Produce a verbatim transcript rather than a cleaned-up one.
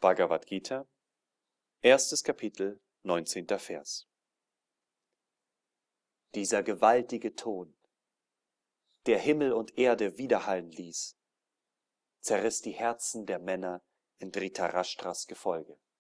Bhagavad Gita, erstes Kapitel, neunzehnter Vers. Dieser gewaltige Ton, der Himmel und Erde widerhallen ließ, zerriss die Herzen der Männer in Dhritarashtras Gefolge.